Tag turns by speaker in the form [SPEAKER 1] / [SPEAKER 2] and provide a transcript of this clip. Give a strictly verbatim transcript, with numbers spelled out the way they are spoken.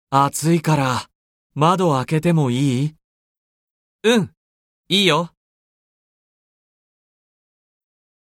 [SPEAKER 1] 暑いから窓開けてもいい？
[SPEAKER 2] うん、いいよ。